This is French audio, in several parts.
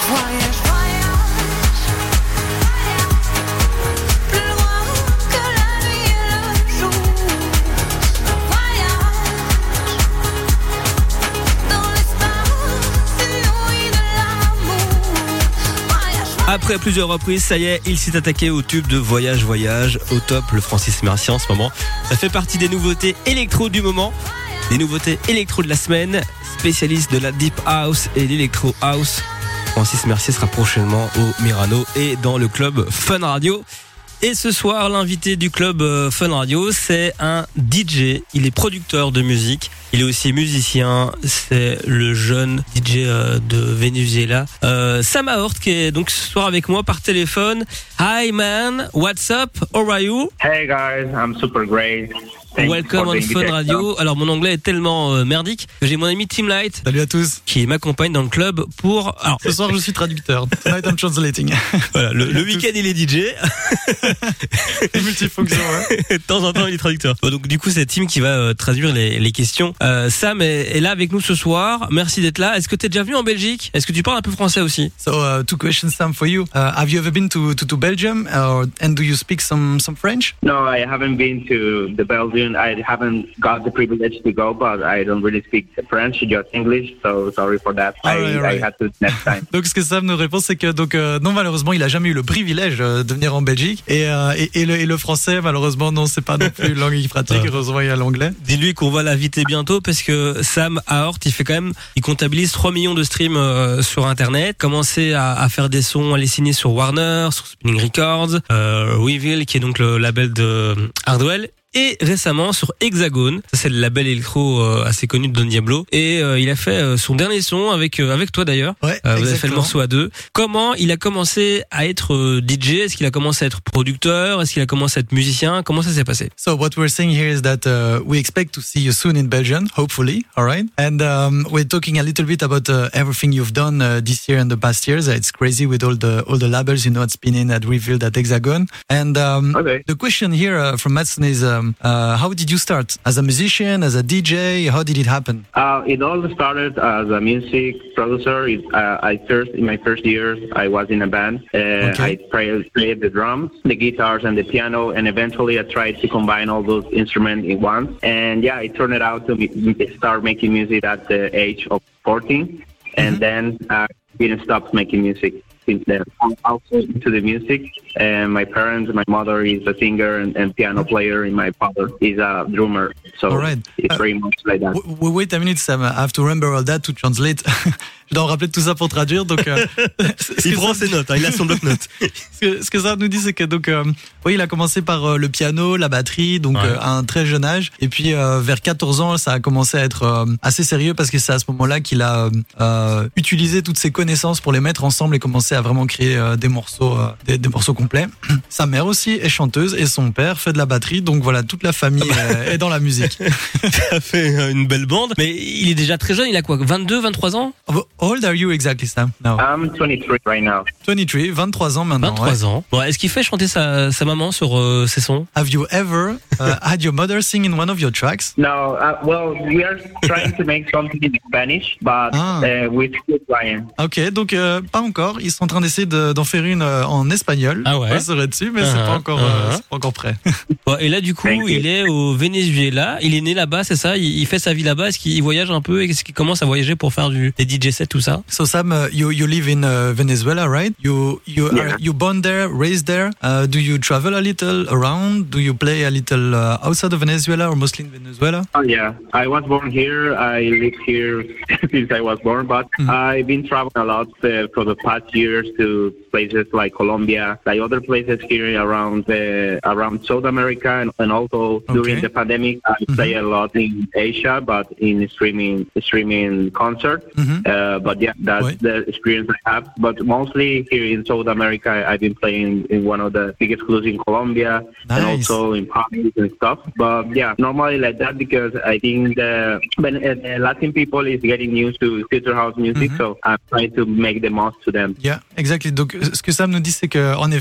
Après plusieurs reprises, ça y est, il s'est attaqué au tube de Voyage, Voyage, au top, le Francis Mercier en ce moment. Ça fait partie des nouveautés électro du moment, des nouveautés électro de la semaine, spécialiste de la Deep House et l'Electro House. Francis Mercier sera prochainement au Myrano et dans le club Fun Radio. Et ce soir, l'invité du club Fun Radio, c'est un DJ. Il est producteur de musique. Il est aussi musicien. C'est le jeune DJ de Venezuela, Sam Aort, qui est donc ce soir avec moi par téléphone. Hi man, what's up? How are you? Hey guys, I'm super great. Welcome on Fun Radio. Alors mon anglais est tellement merdique que j'ai mon ami Tim Light. Salut à tous. Qui m'accompagne dans le club pour. Alors ce soir je suis traducteur. Tonight I'm translating. Voilà, le week-end il est DJ. Multifonction. Ouais. De temps en temps il est traducteur. Bon, donc du coup c'est Tim qui va traduire les questions. Sam est là avec nous ce soir. Merci d'être là. Est-ce que tu es déjà venu en Belgique? Est-ce que tu parles un peu français aussi? So two questions, Sam, for you. Have you ever been to Belgium, and do you speak some French? No, I haven't been to the Belgium. I haven't got the privilege to go, but I don't really speak French, just English. So sorry for that. I had to next time. Donc ce que Sam nous répond, c'est que non, malheureusement, il a jamais eu le privilège de venir en Belgique, et le français, malheureusement, non, c'est pas non plus une langue qu'il pratique. Heureusement, il y a l'anglais. Dis-lui qu'on va l'inviter bientôt parce que Sam Aort, il comptabilise 3 millions de streams sur Internet. Commencé à faire des sons, à les signer sur Warner, sur Spinning Records, Weevil, qui est donc le label de Hardwell. Et récemment sur Hexagone, ça c'est le label électro assez connu de Don Diablo, et il a fait son dernier son avec toi d'ailleurs. Ouais, vous avez fait le morceau à deux. Comment il a commencé à être DJ? Est-ce qu'il a commencé à être producteur? Est-ce qu'il a commencé à être musicien? Comment ça s'est passé? So what we're saying here is that we expect to see you soon in Belgium, hopefully, all right? And we're talking a little bit about everything you've done this year and the past years. It's crazy with all the labels, you know, at Spinning, at Revealed, at Hexagon. And the question here from Madsen is how did you start? As a musician, as a DJ? How did it happen? It all started as a music producer. In my first years, I was in a band. I played the drums, the guitars, and the piano, and eventually I tried to combine all those instruments in one. And yeah, it turned out to start making music at the age of 14, and then I didn't stop making music. I'm also into the music, and my mother is a singer and piano player, and my father is a drummer. So it's very much like that. Wait a minute, Sam. I have to remember all that to translate. Je dois en rappeler tout ça pour traduire. Donc, il prend ses notes, il a son bloc-notes. Ce que ça nous dit, c'est que il a commencé par le piano, la batterie, donc à un très jeune âge. Et puis vers 14 ans, ça a commencé à être assez sérieux parce que c'est à ce moment-là qu'il a utilisé toutes ses connaissances pour les mettre ensemble et commencer à vraiment créer des morceaux complets. Sa mère aussi est chanteuse et son père fait de la batterie. Donc voilà, toute la famille est dans la musique. Ça fait une belle bande. Mais il est déjà très jeune. Il a quoi, 22, 23 ans? How old are you exactly, Sam? Now? I'm 23 right now. 23, 23 ans maintenant. 23 ans. Bon, est-ce qu'il fait chanter sa maman sur ses sons? Have you ever had your mother sing in one of your tracks? No, well, we are trying to make something in Spanish, but with Ryan. Ok, donc pas encore. Ils sont en train d'essayer d'en faire une en espagnol. Ah ouais. On serait dessus, mais c'est pas encore prêt. Bon, et là, du coup, il est au Venezuela. Il est né là-bas, c'est ça? Il fait sa vie là-bas. Est-ce qu'il voyage un peu? Est-ce qu'il commence à voyager pour faire des DJ sets, tout ça? So Sam, you live in Venezuela, right? You born there, raised there. Do you travel a little around? Do you play a little outside of Venezuela or mostly in Venezuela? Oh yeah, I was born here. I lived here since I was born, but I've been traveling a lot for the past years to places like Colombia, like other places here around South America, and also during the pandemic, I play a lot in Asia, but in streaming concert. But yeah, that's the experience I have. But mostly here in South America, I've been playing in one of the biggest clubs in Colombia and also in parties and stuff. But yeah, normally like that because I think the Latin people is getting used to future house music, so I'm trying to make the most to them. Yeah, exactly. Donc ce que Sam nous dit, c'est que en effet,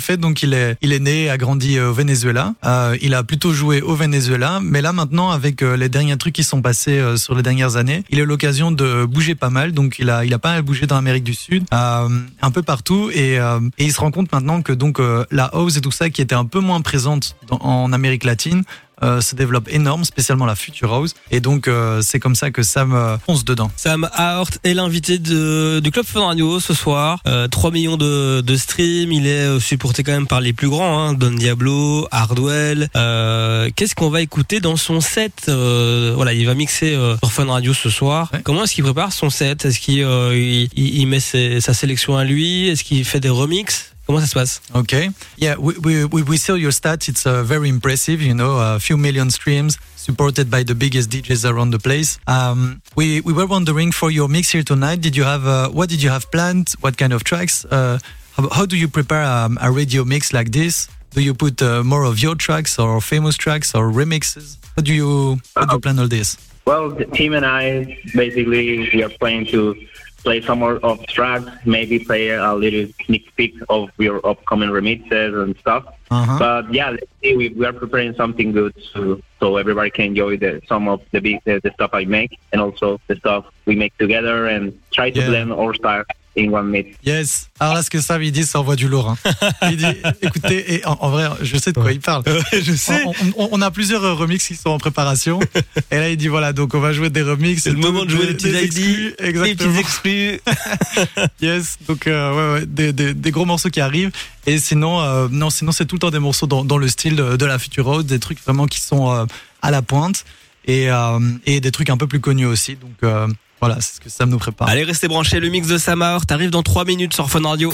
fait, donc il est né, a grandi au Venezuela. Il a plutôt joué au Venezuela, mais là maintenant avec les derniers trucs qui sont passés sur les dernières années, il a eu l'occasion de bouger pas mal. Donc il a pas mal bougé dans l'Amérique du Sud, un peu partout, et il se rend compte maintenant que donc la house et tout ça qui était un peu moins présente en Amérique latine se développe énorme, spécialement la future house, et donc c'est comme ça que Sam fonce dedans. Sam Aort est l'invité du Club Fun Radio ce soir. 3 millions de streams, il est supporté quand même par les plus grands, hein, Don Diablo, Hardwell. Qu'est-ce qu'on va écouter dans son set? Voilà, il va mixer sur Fun Radio ce soir. Ouais. Comment est-ce qu'il prépare son set? Est-ce qu'il met sa sélection à lui? Est-ce qu'il fait des remixes? Comment ça se passe? Okay. Yeah, we saw your stats. It's very impressive, you know, a few million streams supported by the biggest DJs around the place. We were wondering for your mix here tonight, what did you have planned? What kind of tracks? How do you prepare a radio mix like this? Do you put more of your tracks or famous tracks or remixes? How do you plan all this? Well, the team and I, basically, we are planning to play some more of tracks, maybe play a little sneak peek of your upcoming remixes and stuff. Uh-huh. But yeah, let's see, we are preparing something good so everybody can enjoy some of the stuff I make and also the stuff we make together and try to blend our style in one mix. Yes. Alors là, ce que Sam il dit, ça envoie du lourd. Hein. Il dit, écoutez, et en vrai, je sais de quoi il parle. Je sais. On a plusieurs remixes qui sont en préparation. Et là, il dit voilà, donc on va jouer des remixes. C'est le moment de jouer des petits exclus. Exactement. Des petits exclus. Yes. Donc des gros morceaux qui arrivent. Et sinon, sinon c'est tout le temps des morceaux dans le style de la Future House, des trucs vraiment qui sont à la pointe et des trucs un peu plus connus aussi. Donc voilà, c'est ce que Sam nous prépare. Allez, restez branchés, le mix de Sam Aort arrive dans 3 minutes sur Fun Radio.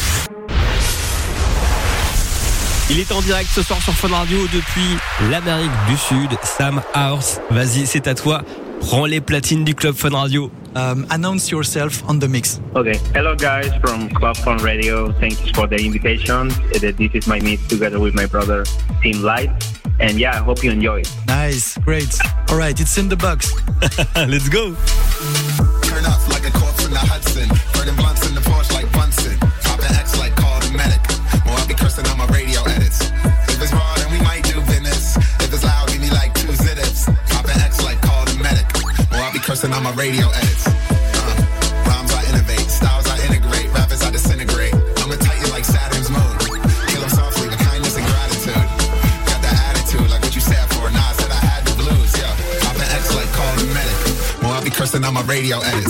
Il est en direct ce soir sur Fun Radio depuis l'Amérique du Sud. Sam Aort, vas-y, c'est à toi. Prends les platines du Club Fun Radio. Announce yourself on the mix. Okay. Hello guys from Club Fun Radio. Thanks for the invitation. This is my mix together with my brother, Team Light. And yeah, I hope you enjoy it. Nice, great. All right, it's in the box. Let's go. Turn up like a corpse in the Hudson. Burning blunts in the Porsche like Bunsen. Popping X like call the medic. Well, I'll be cursing on my radio edits. If it's raw, then we might do business. If it's loud, give me like 2 zit-ups. Popping X like call the medic. Well, I'll be cursing on my radio edits. Rhymes I innovate, styles I integrate, rappers I disintegrate. I'm a titan like Saturn's moon. Kill them softly with kindness and gratitude. Got that attitude like what you said for. Nah, I said I had the blues, yeah. Popping X like call the medic. Well, I'll be cursing on my radio edits.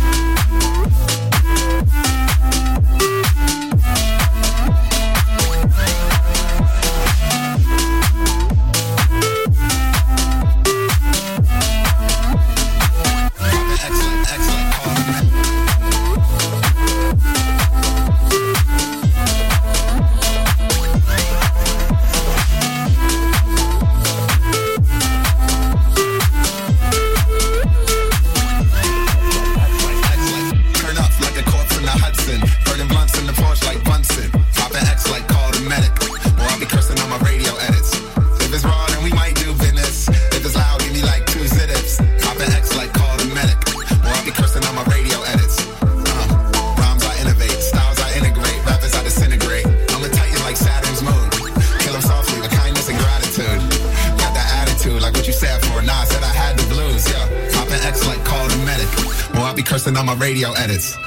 On my radio edits.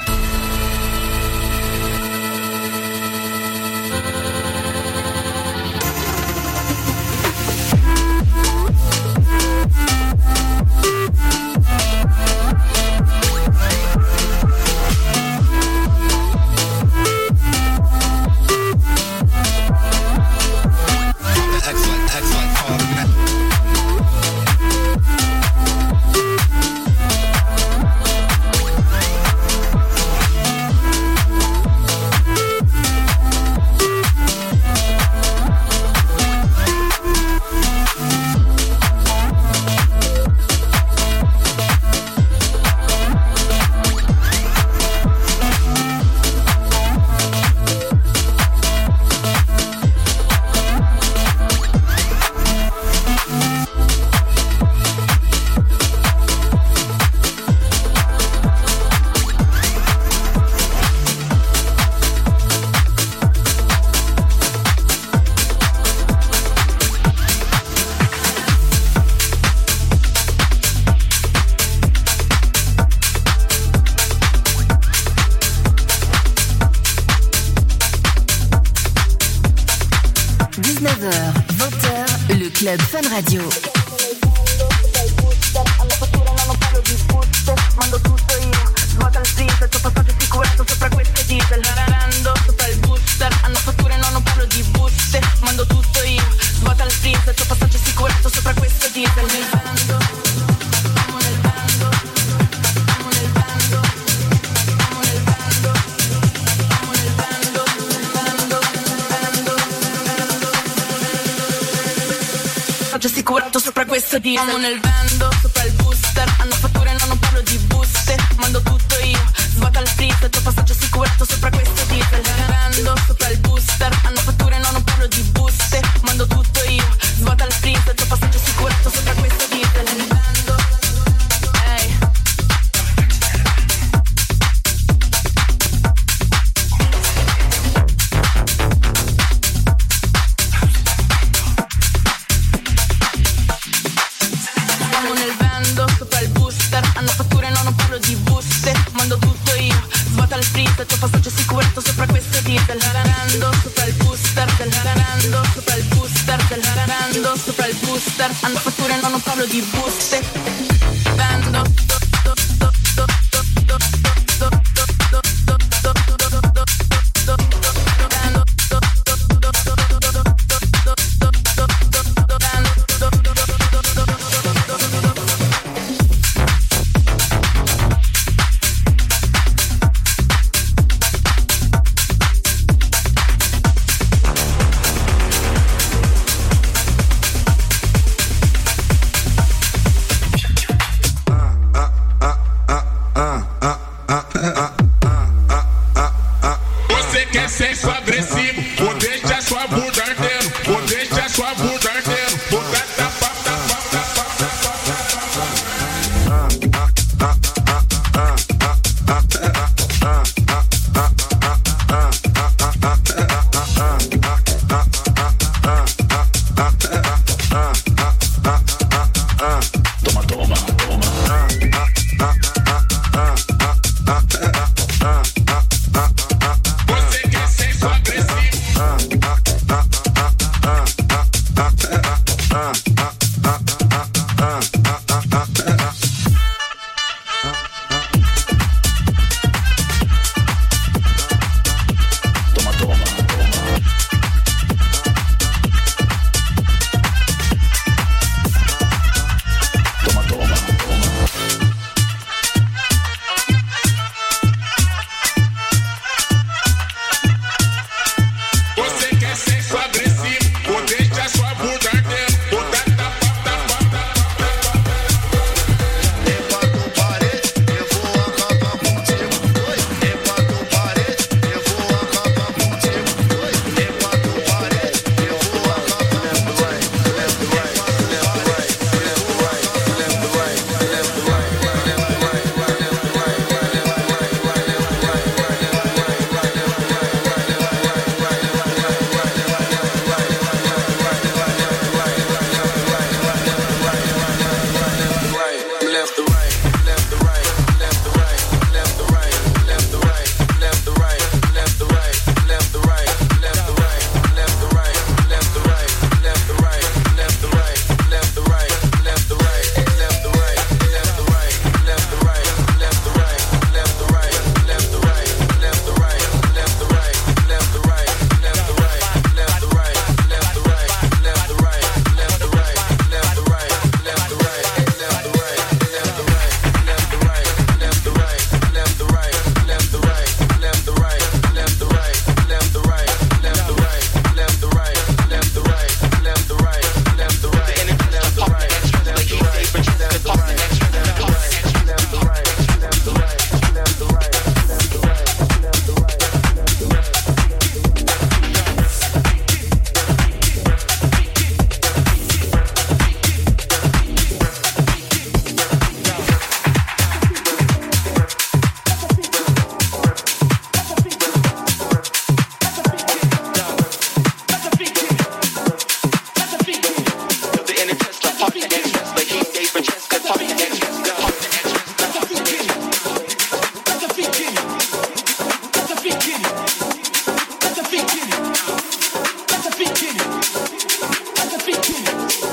19h, 20h, le Club Fun Radio. Mando tutto io, svuota il freezer, c'ho passaggio sicurezza sopra queste diesel. Rarando sopra il booster, hanno fatture no non parlo di buste. Mando tutto io, svuota il freezer, c'ho passaggio sicurezza sopra queste diesel. Nel bando, siamo nel bando, siamo nel bando, siamo nel bando, siamo nel bando, passaggio assicurato sopra questa diesel. Siamo nel bando, sopra il booster, hanno fatture no non parlo di buste. Mando tutto io, svuota il freezer, c'ho passaggio assicurato sopra questa diesel. Rarando sopra il booster, hanno fatture no non parlo di buste. Mando tutto io, svuota il freezer, c'ho passaggio assicurato sopra questa diesel. Nel bando, ehi. Siamo nel bando, sopra il booster, hanno fatture no non parlo di buste. Mando tutto io, svuota il freezer, c'ho passaggio assicurato sopra queste diesel. Rarando sopra il booster, rarando sopra il booster, rarando sopra il booster, hanno fatture no non parlo di buste. Bando. Você quer sexo agressivo, vou deixar sua bunda ardendo, vou deixar sua bunda ardendo, vou dar tapa, tapa, tapa, toma, toma, toma. Você quer sexo agressivo?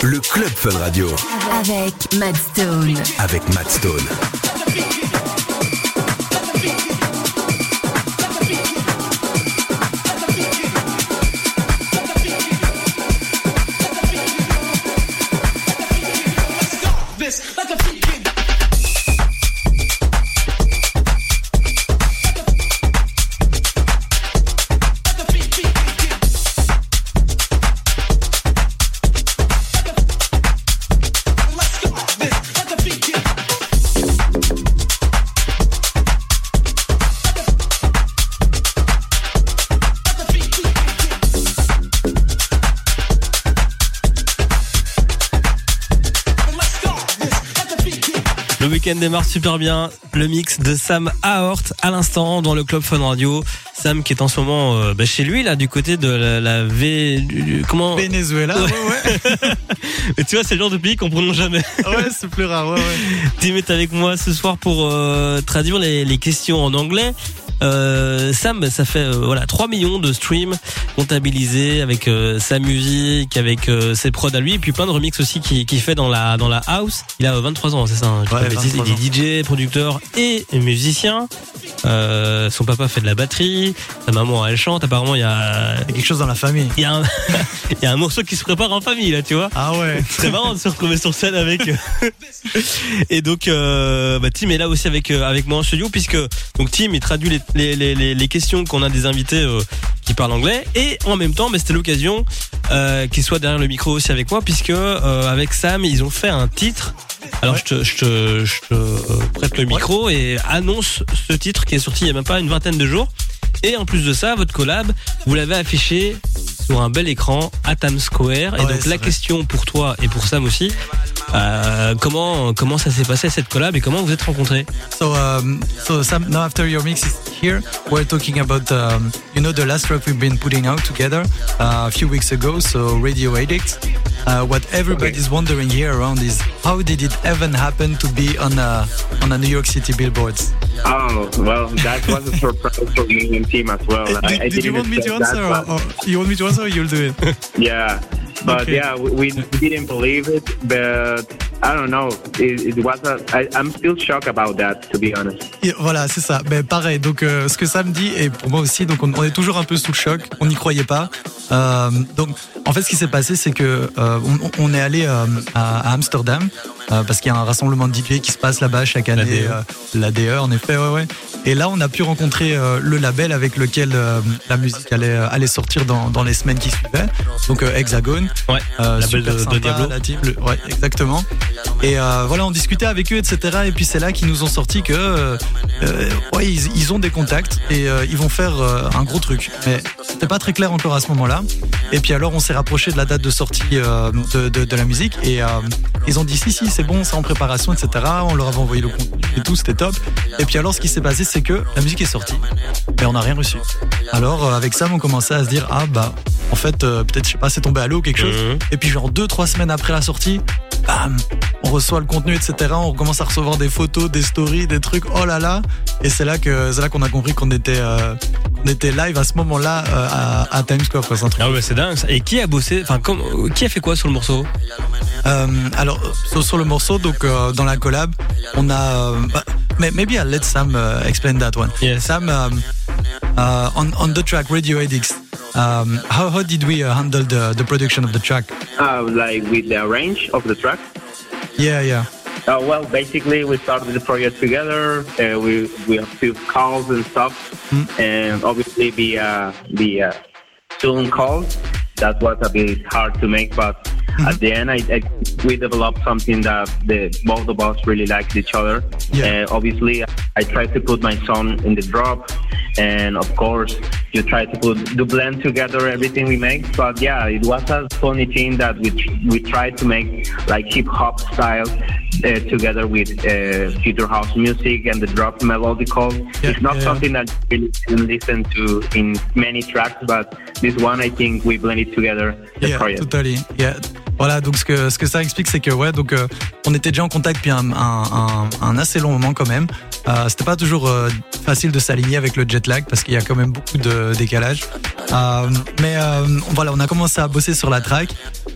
Le Club Fun Radio. Avec Matt Stone. Avec Matt Stone. Le week-end démarre super bien. Le mix de Sam Aort à l'instant dans le Club Fun Radio. Sam qui est en ce moment chez lui là du côté de comment Venezuela. Ouais. Mais tu vois, c'est le genre de pays qu'on prononce jamais. Ouais, c'est plus rare. Ouais. Tim est avec moi ce soir pour traduire les questions en anglais. Sam, ça fait 3 millions de streams comptabilisés avec sa musique, avec ses prods à lui, et puis plein de remix aussi qu'il fait dans la house. Il a 23 ans, c'est ça, hein, ouais, il est DJ, producteur et musicien. Son papa fait de la batterie, sa maman elle chante. Apparemment il y a quelque chose dans la famille. Il y a un morceau qui se prépare en famille là, tu vois. Ah ouais. C'est marrant de se retrouver sur scène avec. Et donc Tim est là aussi avec moi en studio, puisque donc Tim il traduit les questions qu'on a des invités qui parlent anglais, et en même temps c'était l'occasion qu'il soit derrière le micro aussi avec moi, puisque avec Sam ils ont fait un titre. Alors ouais. je te prête le micro et annonce ce titre qui est sorti il y a même pas une vingtaine de jours. Et en plus de ça, votre collab, vous l'avez affiché sur un bel écran à Times Square. Et donc la question pour toi et pour Sam aussi, comment ça s'est passé cette collab et comment vous êtes rencontrés? So Sam, now after your mix is here, we're talking about the last track we've been putting out together a few weeks ago, so Radio Addict. What everybody's wondering here around is how did it even happen to be on a New York City billboards? Oh, well, that was a surprise for me and Tim as well. Did you want me to answer, or you want me to answer, or you'll do it? Yeah, but okay. Yeah, we didn't believe it, but I don't know. It was I'm still shocked about that, to be honest. Et voilà, c'est ça. Ben pareil. Donc ce que Sam dit, et pour moi aussi, donc on est toujours un peu sous le choc. On n'y croyait pas. Donc en fait, ce qui s'est passé, c'est que on est allé à Amsterdam parce qu'il y a un rassemblement de DJ qui se passe là-bas chaque année. L'ADE, en effet, ouais. Et là, on a pu rencontrer le label avec lequel la musique allait sortir dans les semaines qui suivaient. Donc Hexagone, label de Diablo. La team, ouais, exactement. Et voilà, on discutait avec eux, etc. Et puis c'est là qu'ils nous ont sorti que ils ont des contacts et ils vont faire un gros truc. Mais c'était pas très clair encore à ce moment-là. Et puis alors, on s'est rapproché de la date de sortie de la musique et ils ont dit si c'est bon, c'est en préparation, etc. On leur avait envoyé le contenu et tout, c'était top. Et puis alors, ce qui s'est passé, c'est que la musique est sortie, mais on n'a rien reçu. Alors avec Sam, on commençait à se dire en fait, peut-être, je sais pas, c'est tombé à l'eau ou quelque chose. Et puis genre 2-3 semaines après la sortie, bam, on reçoit le contenu, etc. On commence à recevoir des photos, des stories, des trucs. Oh là là. Et c'est là qu'on a compris qu'on était live à ce moment-là à Times Square, quoi. C'est un truc. Ah ouais, c'est dingue. Et qui a bossé? Enfin, qui a fait quoi sur le morceau? Alors sur le morceau, donc dans la collab, on a. Maybe I'll let Sam explain that one. Yes. Sam, on the track Radio Addicts, how did we handle the production of the track? Like with the arrange of the track? Yeah. Well, basically, we started the project together. We have few calls and stuff, and obviously the Zoom calls. That was a bit hard to make, but at the end, we developed something that both of us really liked each other. Yeah. Obviously, I tried to put my son in the drop, and of course, you try to blend together everything we make. But yeah, it was a funny thing that we tried to make like hip hop style together with future house music and the drop melodical. Yeah, it's not something that you really can listen to in many tracks, but this one, I think we blended together the project. Totally. Yeah. Voilà, donc ce que ça explique, c'est que on était déjà en contact depuis un assez long moment quand même. C'était pas toujours facile de s'aligner avec le jet lag parce qu'il y a quand même beaucoup de décalage. Mais voilà, on a commencé à bosser sur la track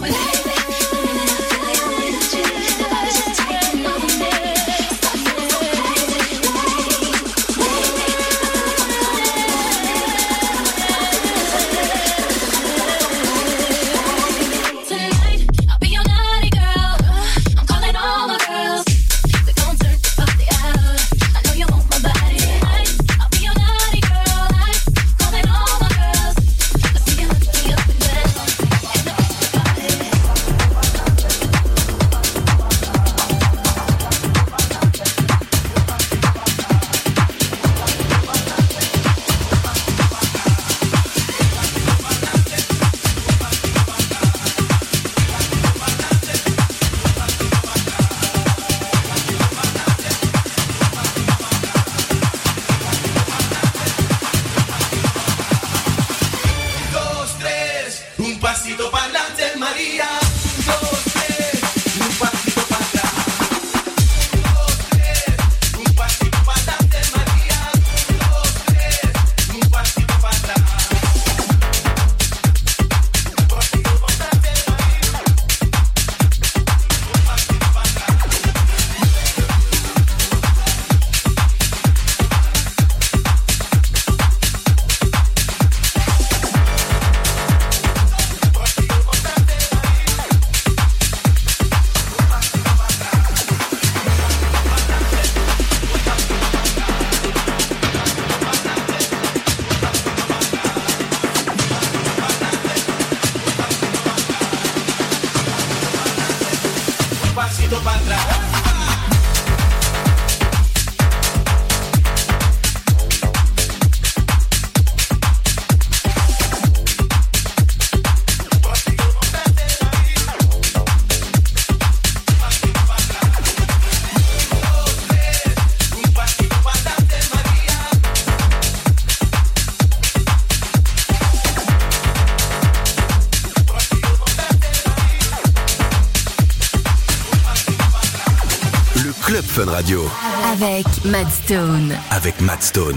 Club Fun Radio. Avec Matt Stone. Avec Matt Stone.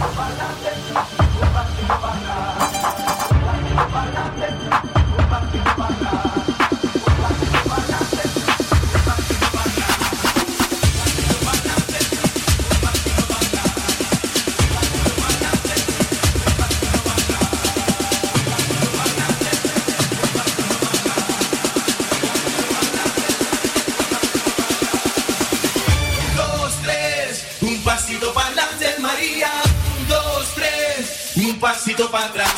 Pasito para atrás.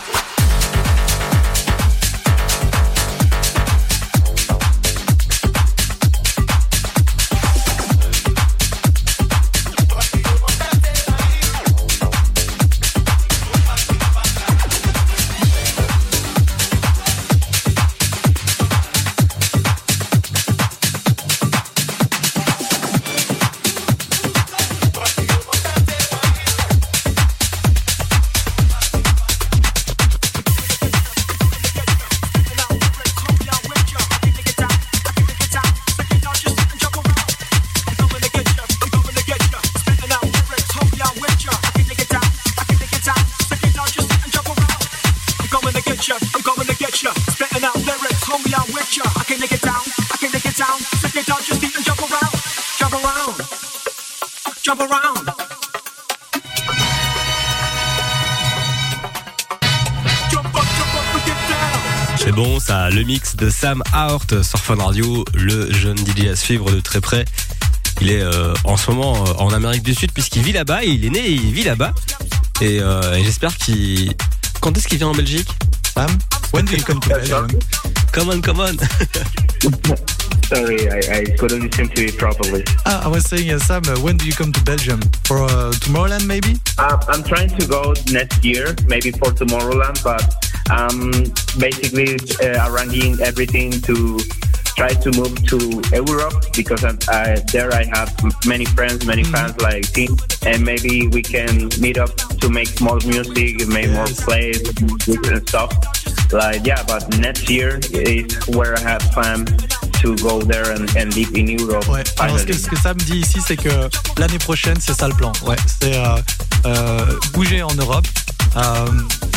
C'est bon ça, le mix de Sam Aort sur Fun Radio, le jeune DJ à suivre de très près. Il est en ce moment en Amérique du Sud puisqu'il vit là-bas, il est né et il vit là-bas. Et j'espère qu'il... Quand est-ce qu'il vient en Belgique, Sam? When do you come to Belgium? Come on. Sorry, I couldn't listen to it properly. I was saying, Sam, when do you come to Belgium? For Tomorrowland, maybe? I'm trying to go next year, maybe for Tomorrowland, but basically arranging everything to try to move to Europe because there I have many friends, many fans like Tim, and maybe we can meet up to make more music, make more plays and stuff. But next year is where I have planned to go there and live in Europe. Ouais. Alors ce que Sam dit ici, c'est que l'année prochaine, c'est ça le plan. Ouais, c'est bouger en Europe.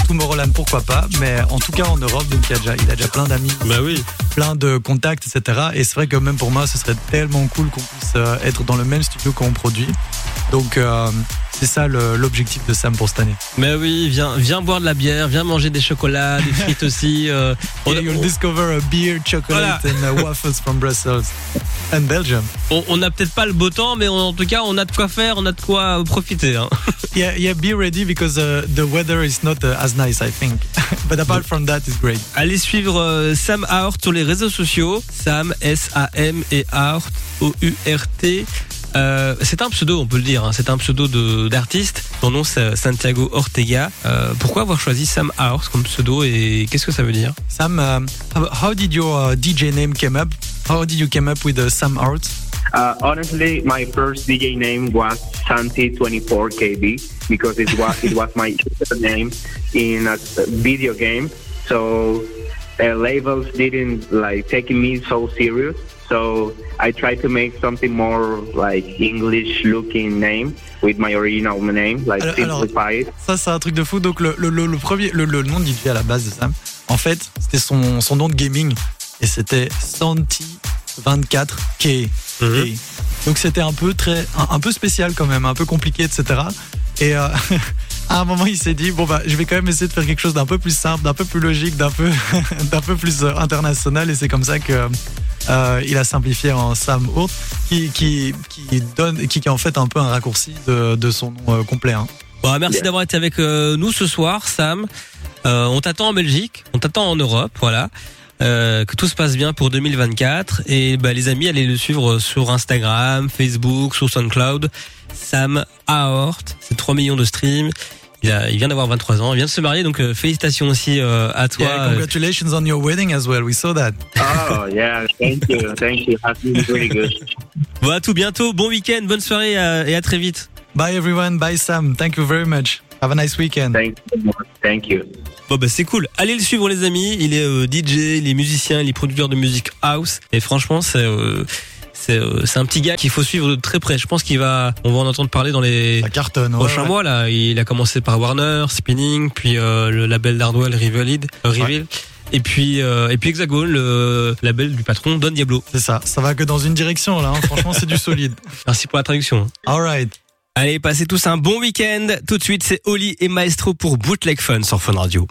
Tomorrowland, pourquoi pas, mais en tout cas en Europe, donc il a déjà plein d'amis, Bah oui. plein de contacts, etc. Et c'est vrai que même pour moi, ce serait tellement cool qu'on puisse être dans le même studio qu'on produit. Donc c'est ça l'objectif de Sam pour cette année. Mais oui, viens boire de la bière, viens manger des chocolats, des frites aussi. You'll discover a beer, chocolate and waffles from Brussels and Belgium. On n'a peut-être pas le beau temps, mais en tout cas, on a de quoi faire, on a de quoi profiter. Hein. Yeah, be ready because the weather is not as nice, I think. But apart from that, it's great. Allez suivre Sam Aort sur les réseaux sociaux. Sam, S-A-M et Aort, O-U-R-T. C'est un pseudo, on peut le dire. Hein. C'est un pseudo d'artiste. Son nom, c'est Santiago Ortega. Pourquoi avoir choisi Sam Aort comme pseudo et qu'est-ce que ça veut dire? Sam, how did your DJ name came up? How did you came up with Sam Aort? Honestly, my first DJ name was Santi24KB because it was my name in a video game. So labels didn't take me so serious. So I tried to make something more English-looking name with my original name, simplify it. Ça, c'est un truc de fou. Donc le nom de DJ à la base de Sam, en fait, c'était son nom de gaming et c'était Santi24K. Donc c'était un peu spécial quand même, un peu compliqué, etc. Et à un moment, il s'est dit je vais quand même essayer de faire quelque chose d'un peu plus simple, d'un peu plus logique, d'un peu plus international. Et c'est comme ça que il a simplifié en Sam Aort, qui est en fait un peu un raccourci de son nom complet. Hein. Bon, merci d'avoir été avec nous ce soir, Sam. On t'attend en Belgique, on t'attend en Europe, voilà. Que tout se passe bien pour 2024 et les amis, allez le suivre sur Instagram, Facebook, sur SoundCloud. Sam Aort, c'est 3 millions de streams. Il vient d'avoir 23 ans, il vient de se marier, donc félicitations aussi à toi. Yeah, congratulations on your wedding as well. We saw that. Oh yeah, thank you. Has been really good. Bon, à tout bientôt, bon week-end, bonne soirée et à très vite. Bye everyone, bye Sam. Thank you very much. Have a nice weekend. Thank you. Bon c'est cool. Allez le suivre les amis. Il est DJ, il est musicien, il est producteur de musique house. Et franchement c'est un petit gars qu'il faut suivre de très près. Je pense on va en entendre parler dans les prochains mois là. Il a commencé par Warner, Spinning, puis le label d'Hardwell Reveal. Et puis Hexagone, le label du patron Don Diablo. C'est ça. Ça va que dans une direction là. Hein. Franchement c'est du solide. Merci pour la traduction. All right. Allez, passez tous un bon week-end. Tout de suite, c'est Oli et Maestro pour Bootleg Fun sur Fun Radio.